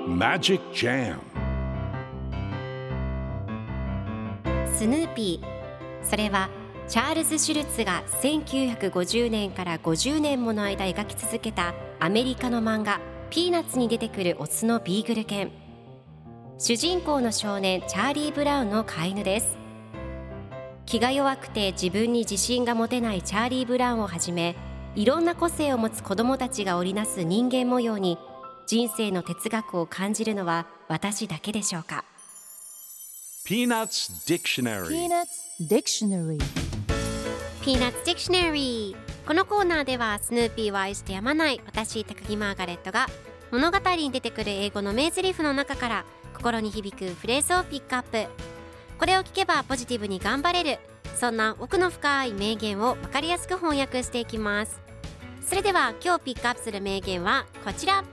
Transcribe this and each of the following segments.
Magic Jam スヌーピー、それはチャールズ・シュルツが1950年から50年もの間描き続けたアメリカの漫画ピーナッツに出てくるオスのビーグル犬。主人公の少年チャーリー・ブラウンの飼い犬です。気が弱くて自分に自信が持てないチャーリー・ブラウンをはじめ、いろんな個性を持つ子どもたちが織りなす人間模様に人生の哲学を感じるのは私だけでしょうか。 Peanuts Dictionary Peanuts Dictionary Peanuts Dictionary。 このコーナーではスヌーピーを愛してやまない私高木マーガレットが物語に出てくる英語の名台詞の中から心に響くフレーズをピックアップ。これを聞けばポジティブに頑張れる、そんな奥の深い名言を分かりやすく翻訳していきます。それでは今日ピックアップする名言はこちら。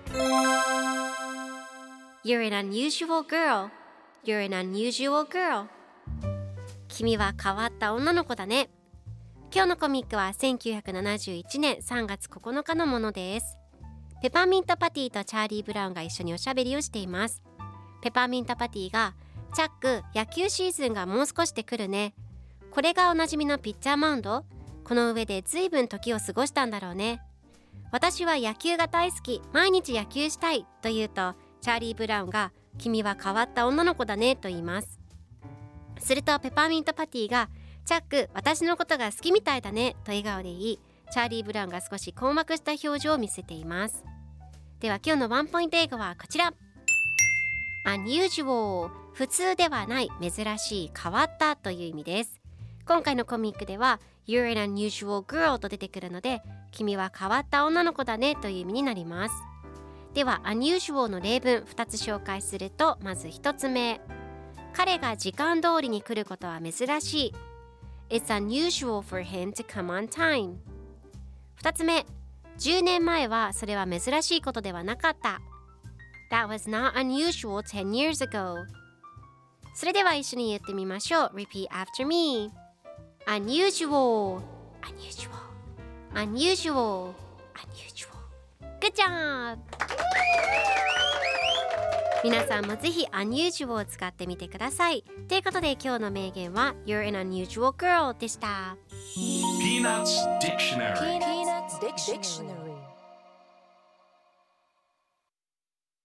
You're an unusual girl. You're an unusual girl. 君は変わった女の子だね。今日のコミックは1971年3月9日のものです。ペパーミントパティとチャーリー・ブラウンが一緒におしゃべりをしています。ペパーミントパティが、チャック、野球シーズンがもう少しで来るね。これがおなじみのピッチャーマウンド？この上でずいぶん時を過ごしたんだろうね。私は野球が大好き、毎日野球したいと言うと、チャーリー・ブラウンが、君は変わった女の子だねと言います。するとペパーミントパティが、チャック、私のことが好きみたいだねと笑顔で言い、チャーリー・ブラウンが少し困惑した表情を見せています。では今日のワンポイント英語はこちら。 Unusual、 普通ではない、珍しい、変わったという意味です。今回のコミックでは You're an unusual girl と出てくるので、君は変わった女の子だねという意味になります。では Unusual の例文2つ紹介すると、まず1つ目、彼が時間通りに来ることは珍しい。 It's unusual for him to come on time。 2つ目、10年前はそれは珍しいことではなかった。 That was not unusual 10 years ago。 それでは一緒に言ってみましょう。 Repeat after me。 Unusual Unusual Unusual Unusual。 Good job。 皆さんもぜひ Unusual を使ってみてください。ということで今日の名言は You're an unusual girl でした。 Peanuts Dictionary Peanuts Dictionary